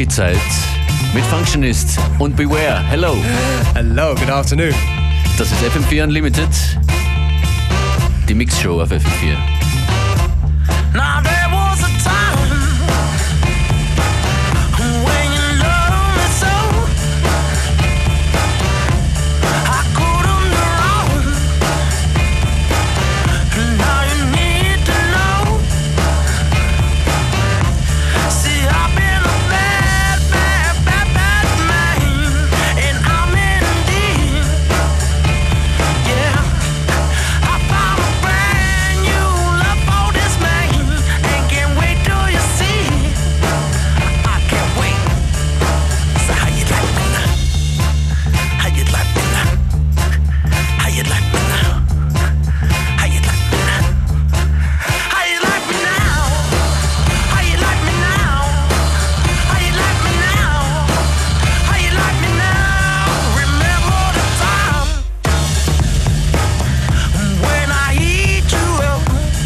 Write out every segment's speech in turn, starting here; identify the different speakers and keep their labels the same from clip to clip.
Speaker 1: Funky-Zeit mit Functionist und Beware. Hello.
Speaker 2: Hello, good afternoon.
Speaker 1: Das ist FM4 Unlimited, die Mix-Show auf FM4.
Speaker 3: Now there was a time when you loved me so I couldn't go wrong. Now you need to know. See, I've been a bad man, and I'm in deep. Yeah, I found a brand new love for this man, and can't wait till you see. I can't wait. So how you like me now? How you like me now? How you like me now? How you like me now? How you like me now? How you like me now? How you like me now? How you like me now? Remember the time when I eat you up?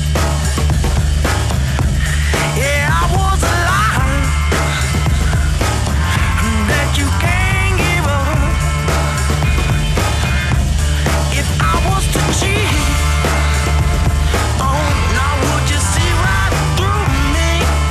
Speaker 3: Yeah, I was a lie that you can't give up. If I was to cheat, oh, now would you see right through me?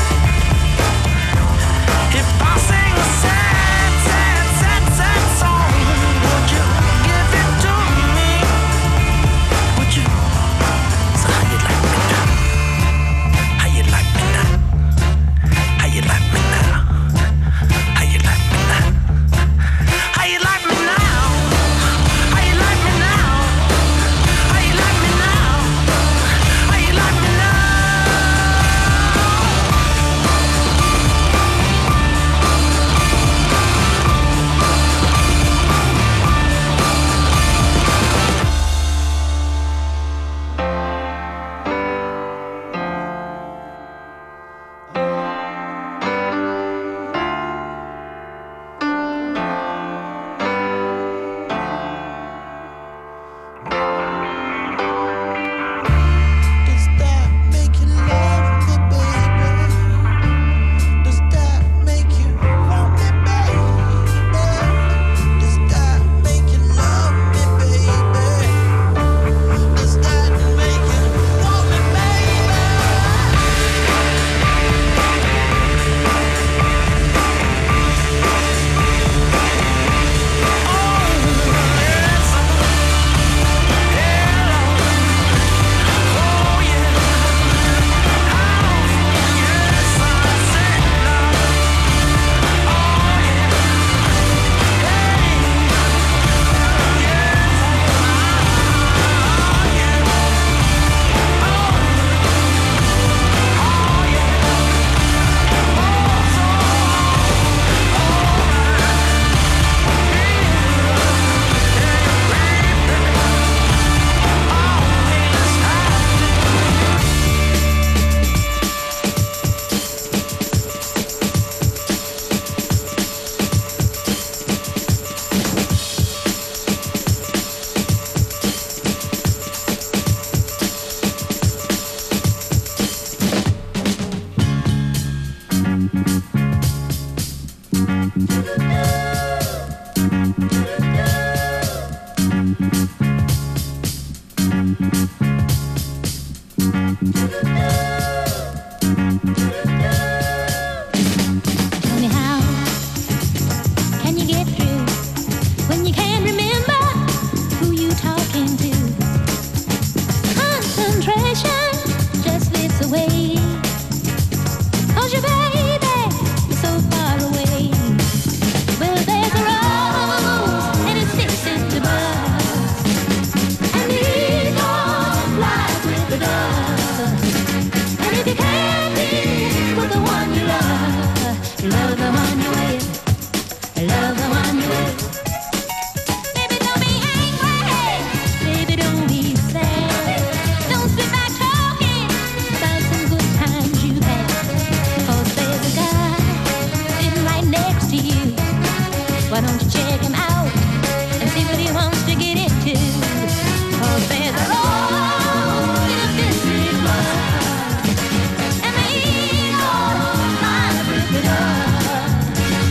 Speaker 3: If I sing a sad, sad, sad, sad song, would you give it to me? Would you? So how you like me now? How you like me now? How you like me now? How you like me now? How you like me now? How you like me now? How you like me now? How you like me now? Does that make you love me, baby? Does that make you want me, baby? Does that make you love me, baby? Does that make you want me, baby?
Speaker 4: Tell me how can you get through when you can't remember who you talking to? Concentration just slips away, 'cause your baby is so far away. Well, there's a rose and it sticks in the bud, and the eagle flies with the dove. And if you can't be with the one you love the one you with, love the one you with. Baby, don't be angry, baby, don't be sad. Don't sit back talking about some good times you had, 'cause there's a guy sitting right next to you. Why don't you check him out and see what he wants to get into? 'Cause there's a road in a busy blood, and the eagle flies with the dove.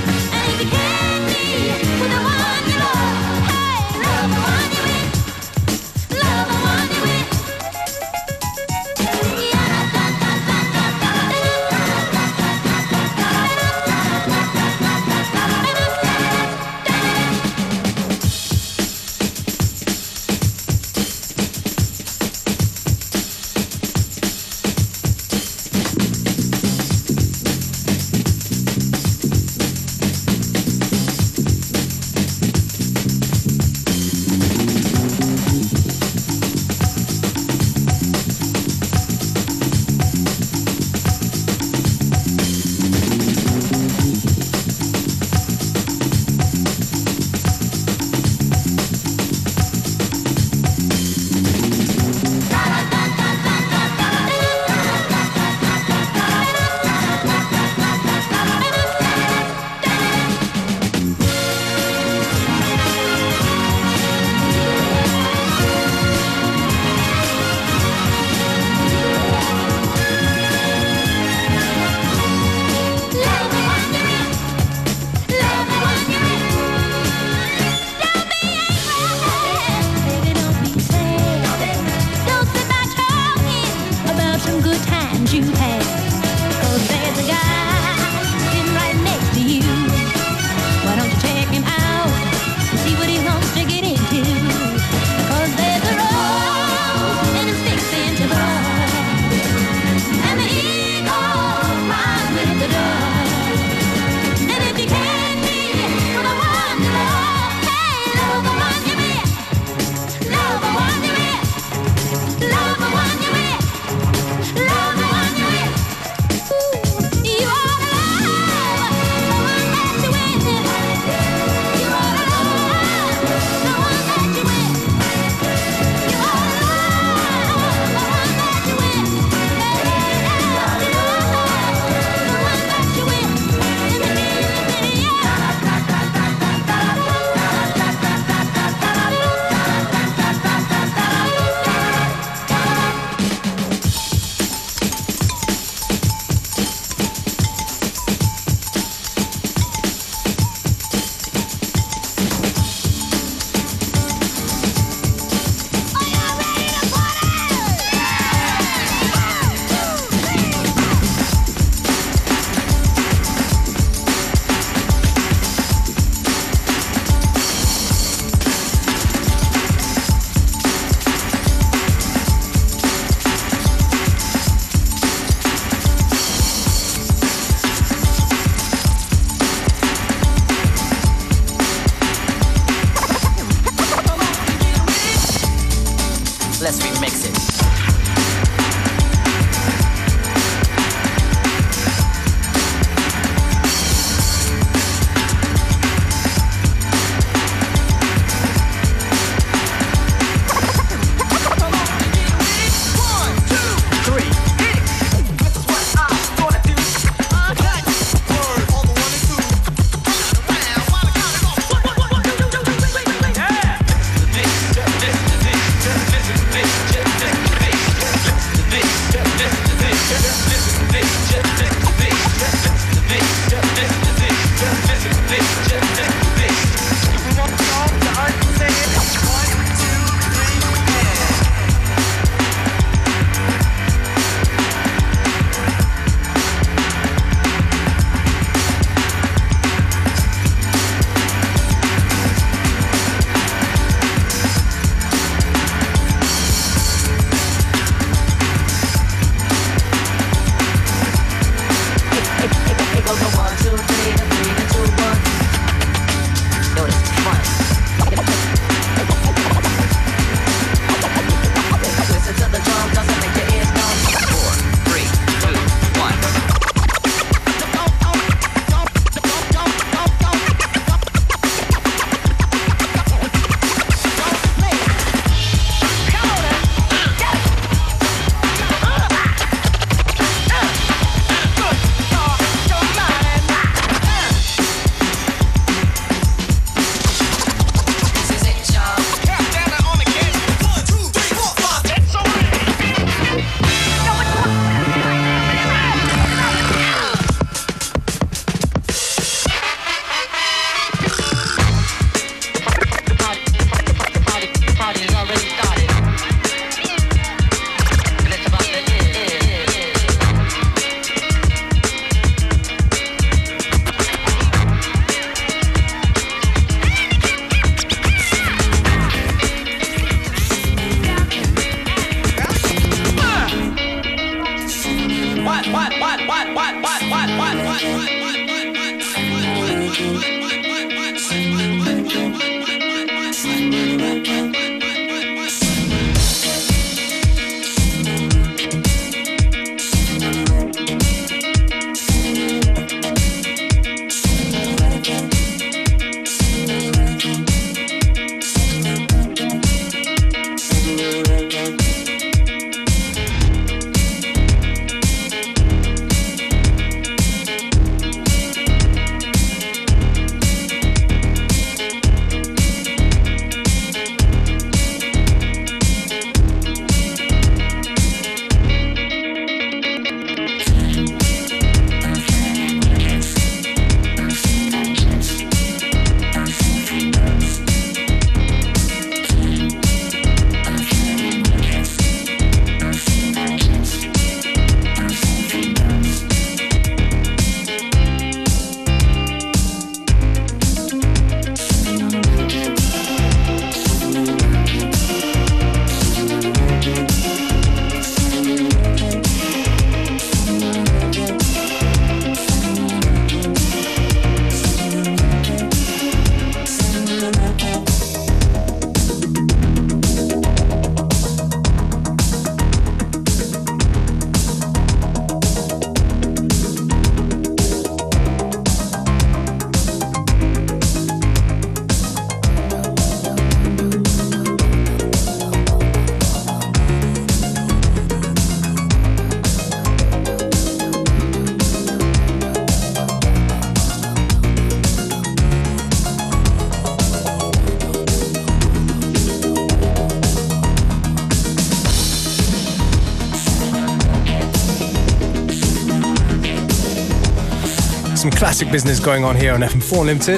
Speaker 2: some classic business going on here on FM4 Unlimited.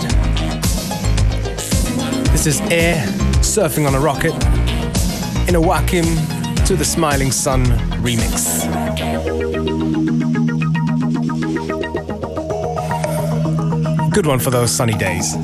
Speaker 2: This is Air, Surfing on a Rocket, in a Wakim to the Smiling Sun remix. Good one for those sunny days.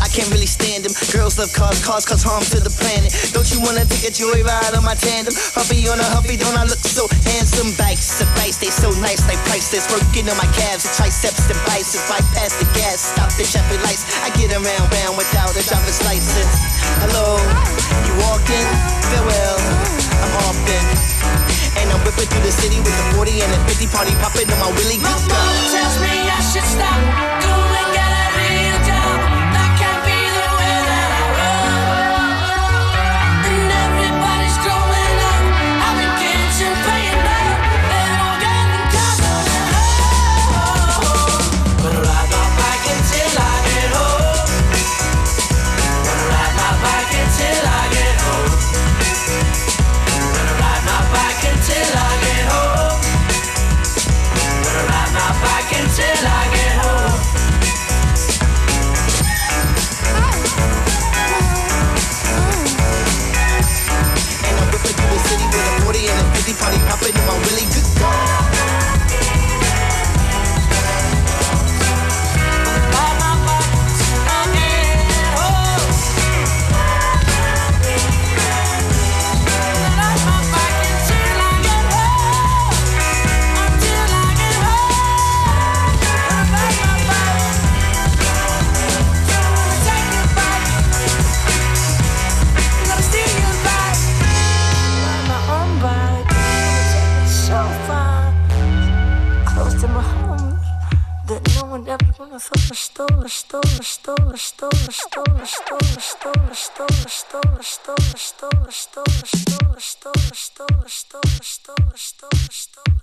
Speaker 5: can't really stand them. Girls love cars, cars cause harm to the planet. Don't you wanna take a joyride on my tandem? Huffy on a huffy, don't I look so handsome? Bikes, advice, they so nice, they priceless. Working on my calves, the triceps, the biceps. Bypass the gas, stop the traffic lights. I get around, round without a driver's license. Hello, you walked in, farewell, I'm off then. And I'm whipping through the city with the 40 and the 50 party popping on my Willie.
Speaker 3: My mother tells me I should stop. Go and get a real job. That can't be the way that I roll. And everybody's growing up, having kids and paying up. They're all getting cars on the road. Gonna ride my bike until I get home. Gonna ride my bike until I get home. Gonna ride my bike until I get home. Gonna ride my bike until I get home.
Speaker 5: And I'm whipping through the city with a 40 and a 50 party popping on my Willie. Good God.
Speaker 3: Ride my bike till I get home. Ride my bike until I get home. Until I get home. Ride my bike. Gonna take your bike. Gonna steal your bike. Ride my own bike. Take it so far. Close to my home. That no one ever gonna thought I stole, I stole, I stole, I stole, I stole, I stole, I stole, I stole, I stole, I stole, I stole, I stole, I stole, I stole, I stole, I stole, I stole, I stole, I stole, I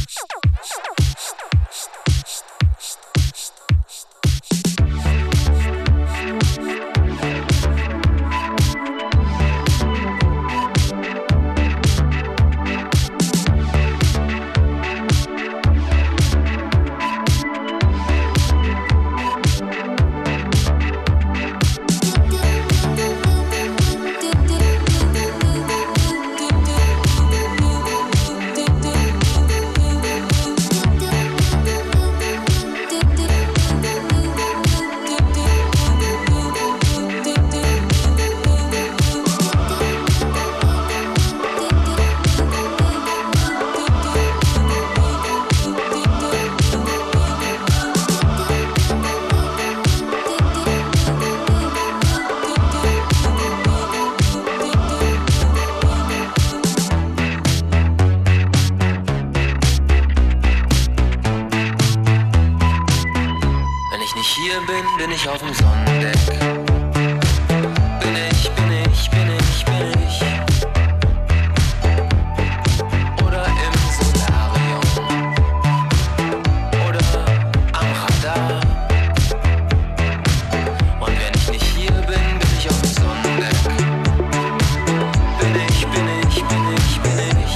Speaker 6: Wenn ich nicht hier bin, bin ich auf dem Sonnendeck. Bin ich, bin ich, bin ich, bin ich. Oder im Solarium. Oder am Radar. Und wenn ich nicht hier bin, bin ich auf dem Sonnendeck. Bin ich, bin ich, bin ich, bin ich.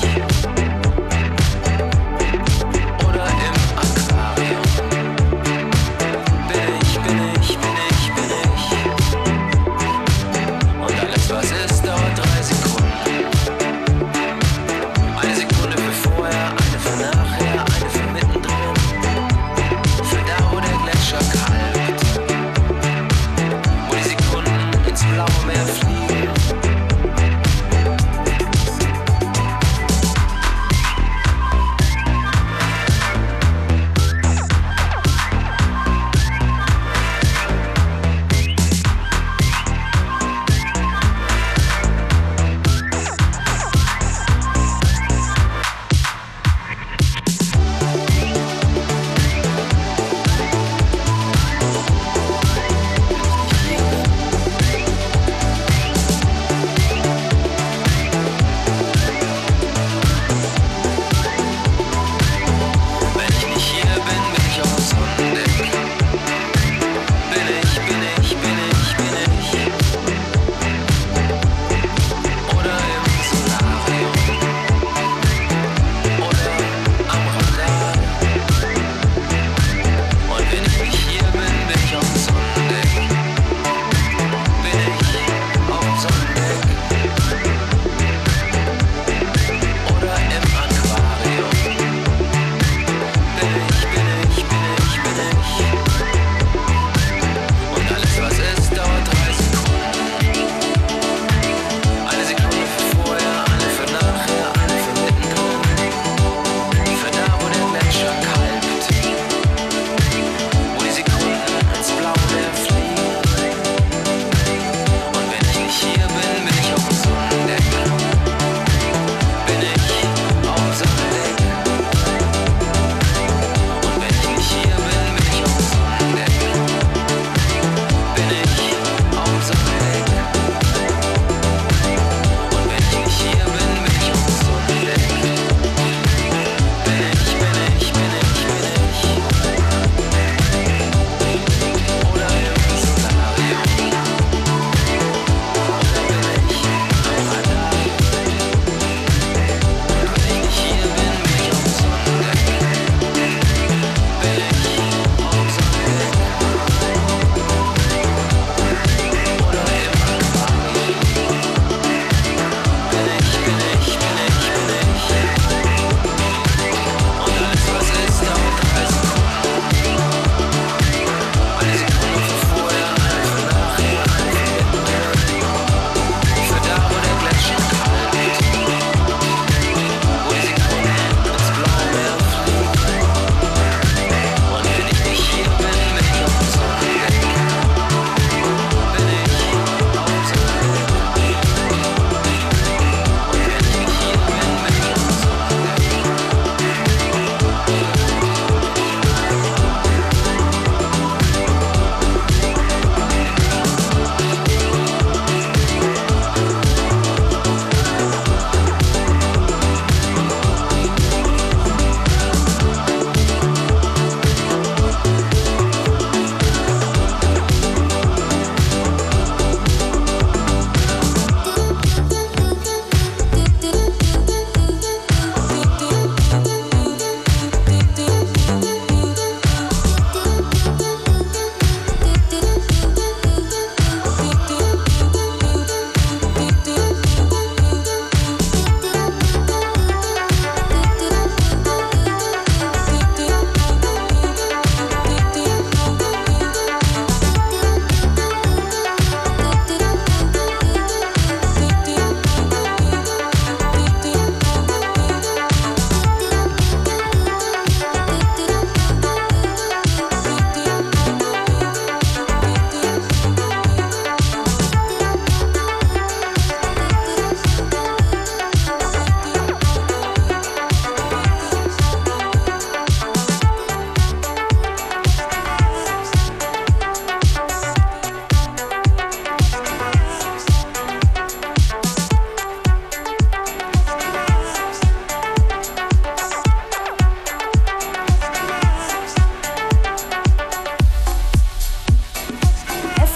Speaker 6: Oder im Aquarium. Bin ich, bin ich, bin ich, bin ich.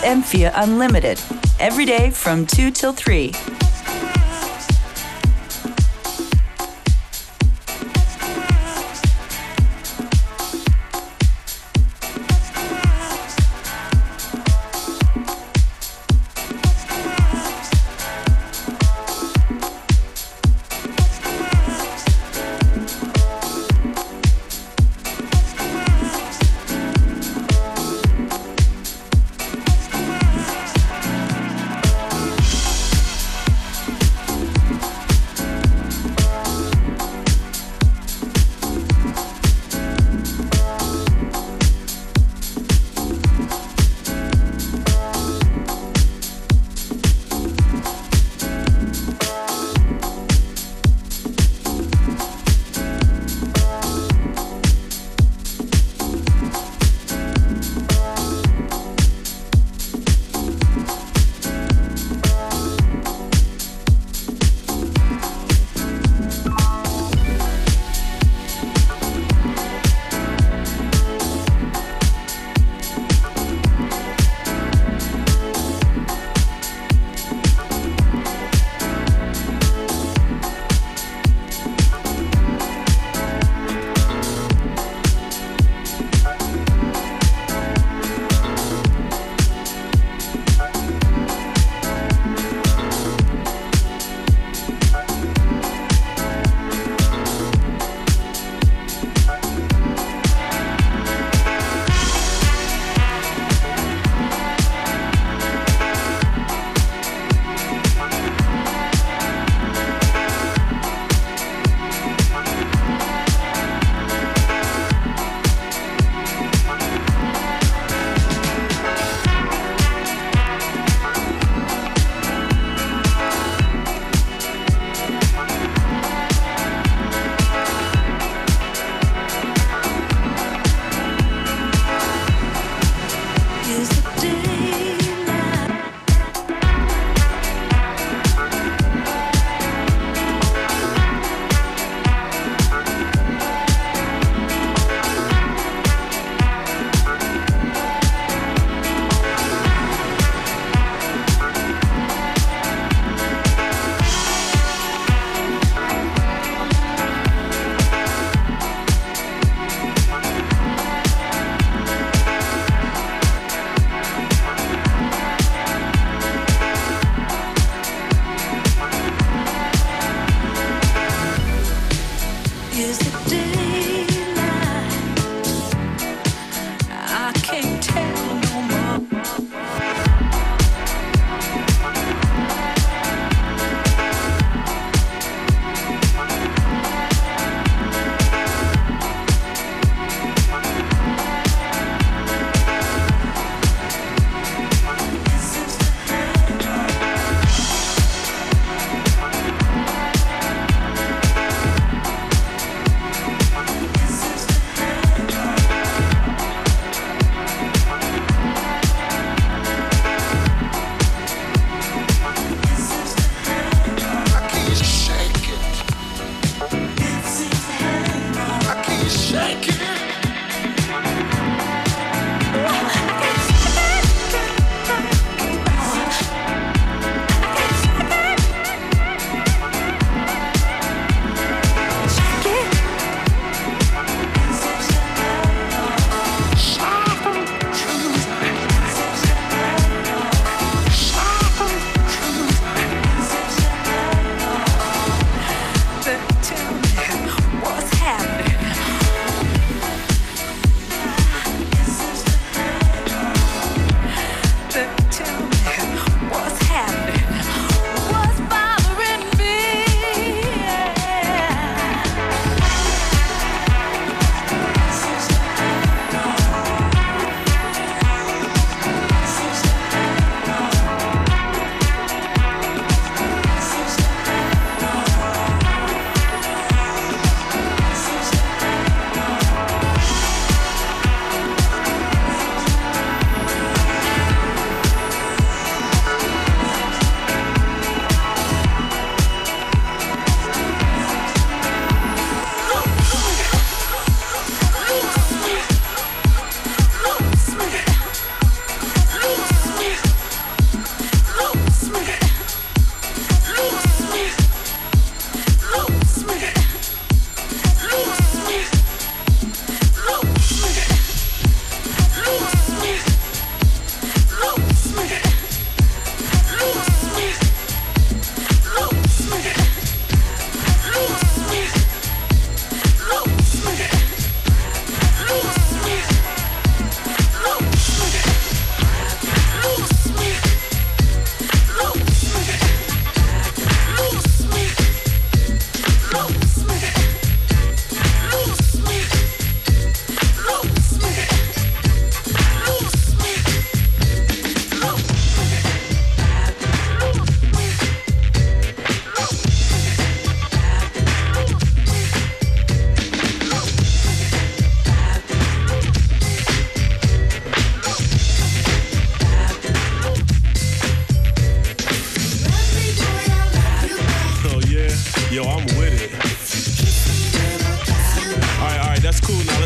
Speaker 7: FM4 Unlimited, every day from 2 till 3.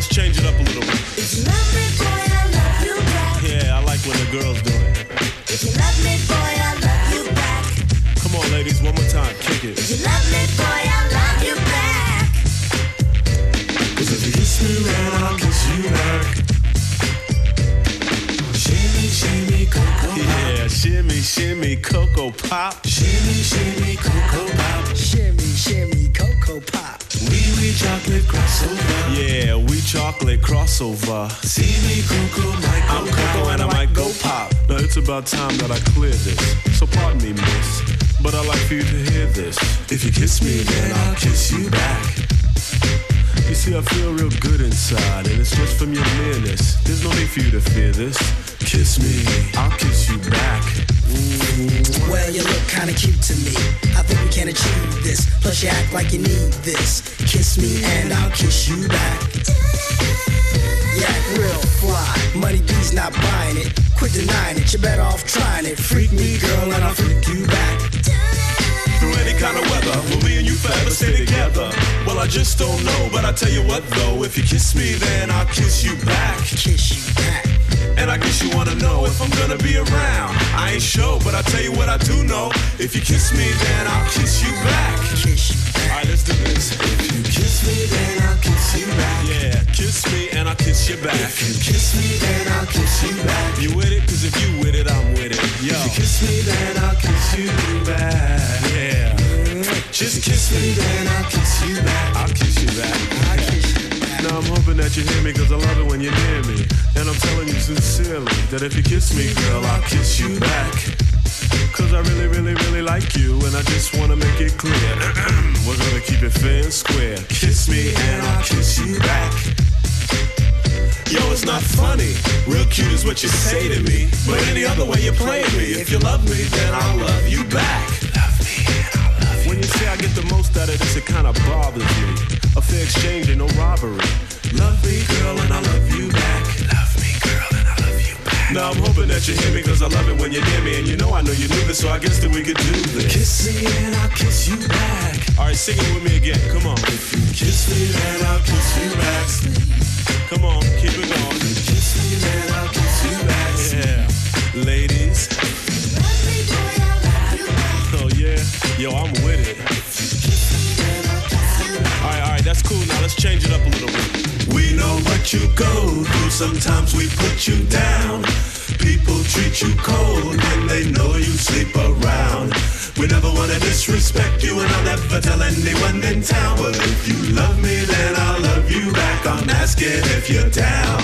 Speaker 8: let's change it up a little bit.
Speaker 3: If you love me, boy, I love you back.
Speaker 8: Yeah, I like when the girls do it.
Speaker 3: If you love me, boy, I love you back.
Speaker 8: Come on, ladies, one more time, kick it.
Speaker 3: If you love me, boy, I love you back.
Speaker 8: 'Cause if you kiss me right, I'll kiss you back. Shimmy, shimmy, Cocoa Pop. Yeah, shimmy, shimmy, Cocoa Pop. Shimmy, shimmy, Cocoa Pop.
Speaker 9: Shimmy, shimmy, Cocoa Pop.
Speaker 8: We chocolate crossover. Yeah, we chocolate crossover. See me, Cocoa, might go I'm Cocoa and I might go pop. Now it's about time that I clear this. So pardon me, miss, but I'd like for you to hear this. If you kiss me, then I'll kiss you back. You see, I feel real good inside, and it's just from your nearness. There's no need for you to fear this. Kiss me, I'll kiss you back.
Speaker 9: Well, you look kinda cute to me. I think we can achieve this. Plus you act like you need this. Kiss me and I'll kiss you back. You act real fly. Money B's not buying it. Quit denying it. You're better off trying it. Freak me, girl, and I'll freak you back.
Speaker 8: Through any kind of weather, will me and you forever stay together? Well, I just don't know, but I tell you what though, if you kiss me, then I'll kiss you back.
Speaker 9: Kiss you back.
Speaker 8: And I guess you wanna know if I'm gonna be around. I ain't sure, but I tell you what I do know. If you kiss me, then I'll kiss you back.
Speaker 9: Kiss you back.
Speaker 8: Alright, let's do this. If you kiss me, then I'll kiss you back. Yeah, kiss me and I'll kiss you back. If you kiss me, then I'll kiss you back. You with it? 'Cause if you with it, I'm with it. Yo. If you kiss me, then I'll kiss you back. Yeah. Just kiss me, then I'll kiss you back. I'll kiss you back.
Speaker 9: I'll kiss you back.
Speaker 8: Now I'm hoping that you hear me, 'cause I love it when you're near me. And I'm telling you sincerely that if you kiss me, girl, I'll kiss you back. 'Cause I really, really, really like you, and I just wanna make it clear. We're gonna keep it fair and square. Kiss me and I'll kiss you back. Yo, it's not funny. Real cute is what you say to me. But any other way you play me. If you love me, then I'll love you back. Love me and I'll love you. When you say I get the most out of this, it kinda bothers me. A fair exchange and no robbery. Love me, girl, and I love you back. Love me, girl, and I love you back. Now I'm hoping that you hear me, 'cause I love it when you're near me. And you know I know you knew this, so I guess that we could do this. Kiss me and I'll kiss you back. Alright, sing it with me again, come on. If you kiss me, then I'll kiss you back. Come on, keep it going. If you kiss me, then I'll kiss you back. Yeah, ladies.
Speaker 3: Love me, boy, I love you back.
Speaker 8: Oh yeah, yo, I'm with it. Alright, that's cool. Now let's change it up a little bit. We know what you go through. Sometimes we put you down. People treat you cold when they know you sleep around. We never wanna disrespect you, and I'll never tell anyone in town. But if you love me, then I'll love you back. I'm asking if you're down.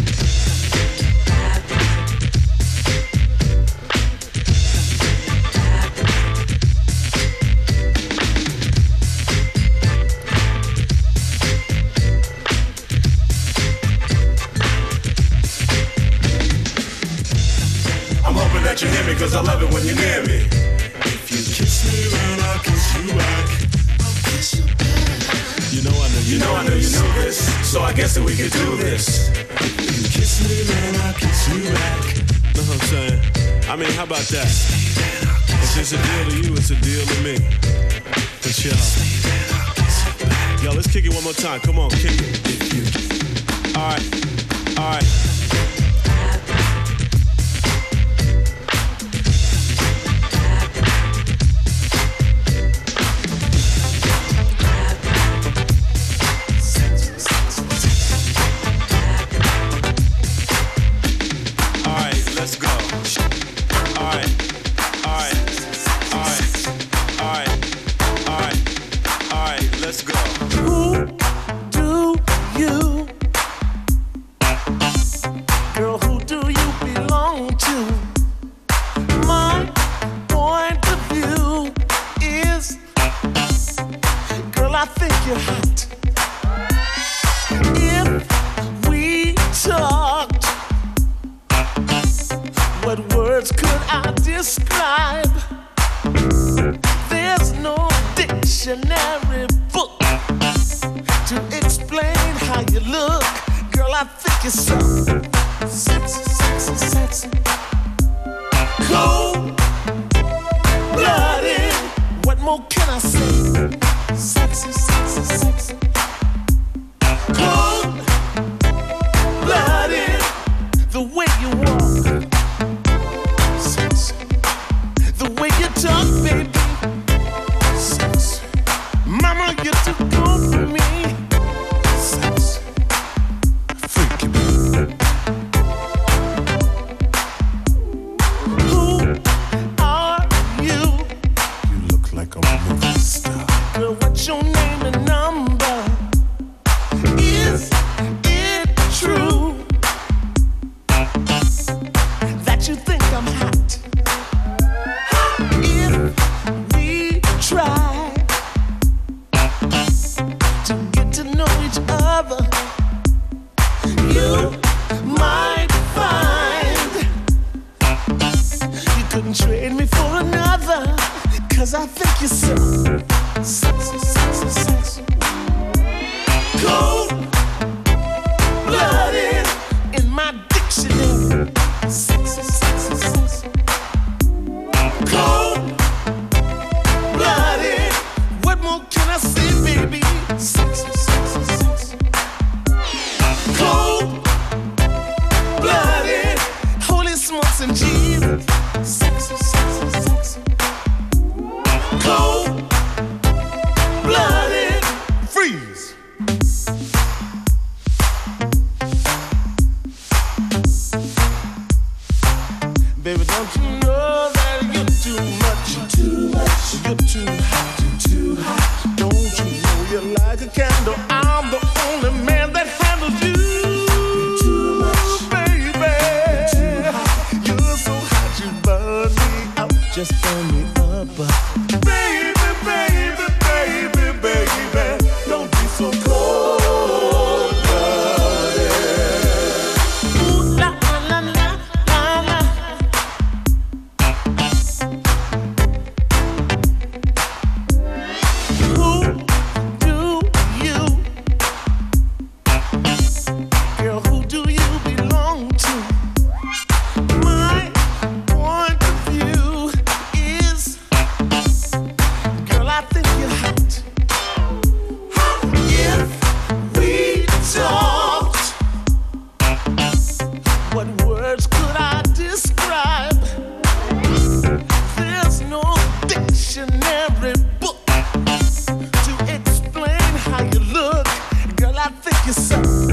Speaker 8: That you hear me, 'cause I love it when you're near me. If you kiss me, then I'll kiss you back. I'll kiss you back. You know I know you know this, so I guess that we could do this. If you kiss me, then I'll kiss you back. Know what I'm saying? I mean, how about that? If it's a deal to you, it's a deal to me. For sure. Yo, let's kick it one more time. Come on, kick it. If you. All right.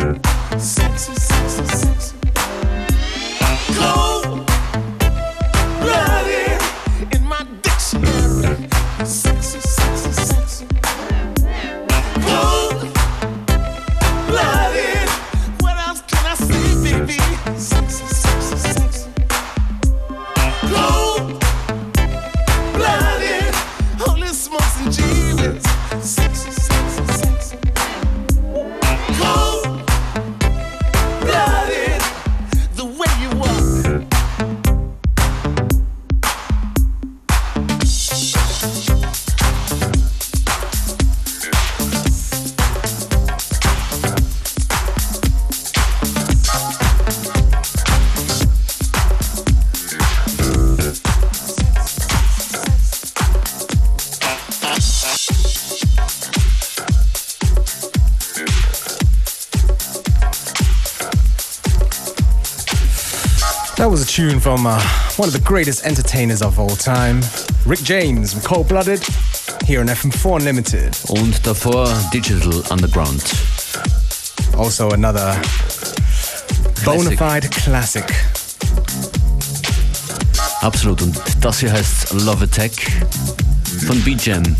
Speaker 3: Sexy, sexy, sexy. Cold-blooded in my dictionary. Sexy, sexy, sexy. Cold-blooded. What else can I say, baby? Sexy, sexy, sexy. Cold-blooded. Holy smokes and Jesus. Sexy, sexy, sexy. Cold-blooded. The way you walk.
Speaker 2: That was a tune from one of the greatest entertainers of all time, Rick James from Cold-Blooded, here on FM4 Unlimited.
Speaker 1: Und davor Digital Underground.
Speaker 2: Also another bona fide classic.
Speaker 1: Absolut. Und das hier heißt Love Attack von B-Jam.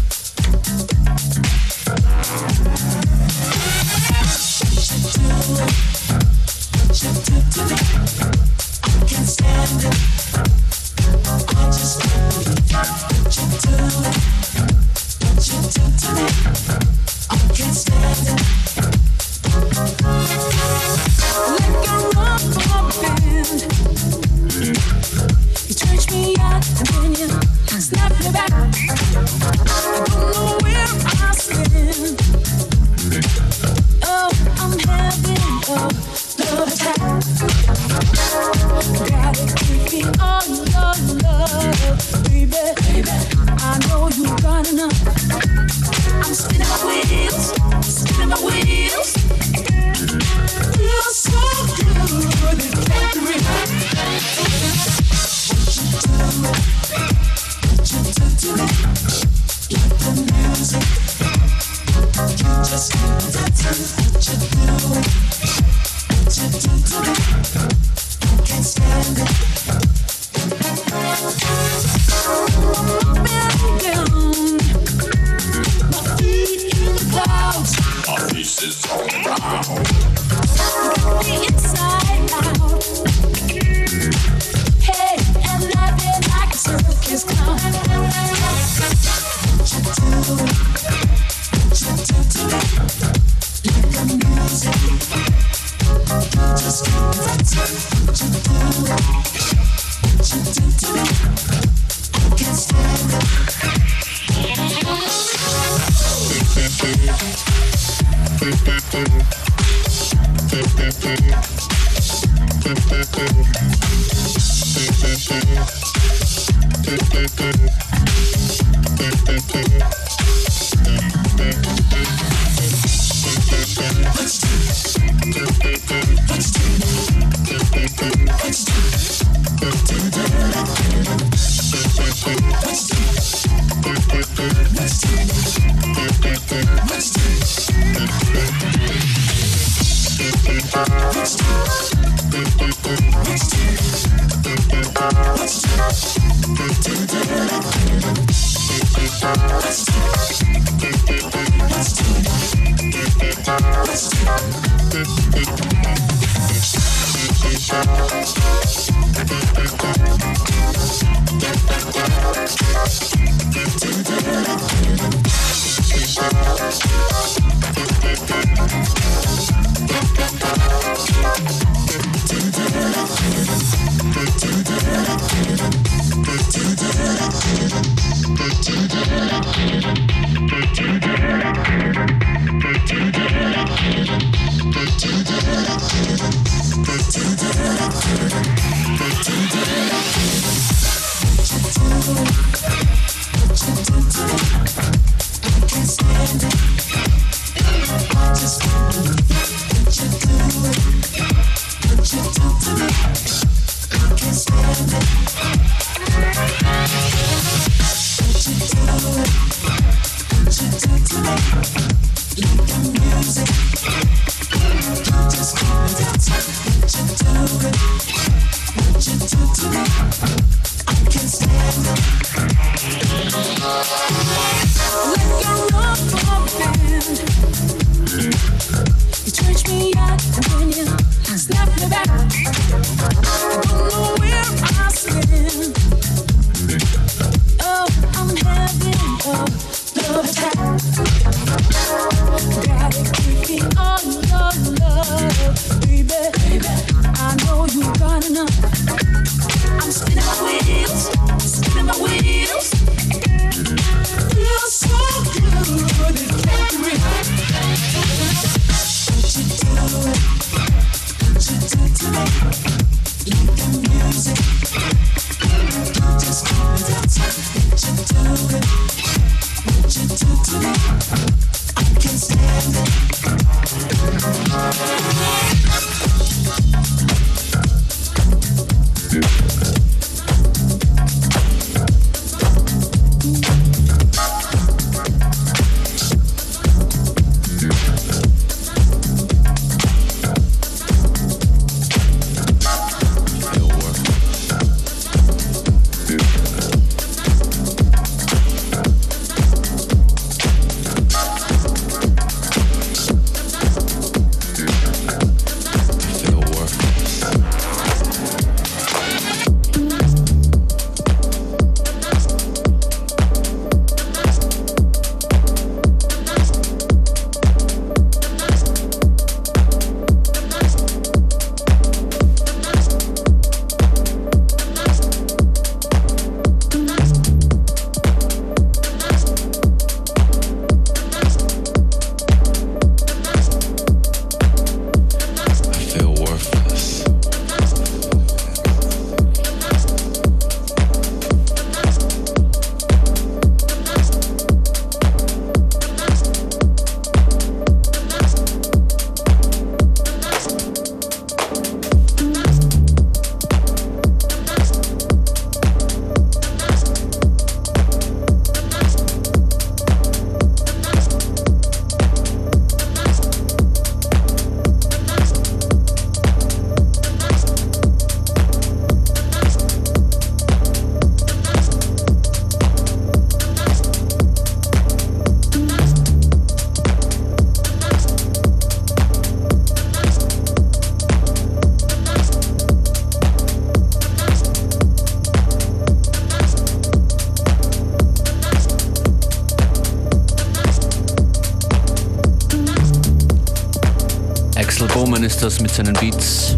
Speaker 1: Bowman ist das mit seinen Beats.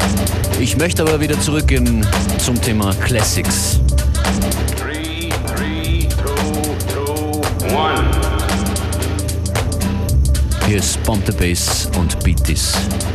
Speaker 1: Ich möchte aber wieder zurückgehen zum Thema Classics.
Speaker 10: 3, 2, 1.
Speaker 1: Hier ist Bump the Bass und Beat This.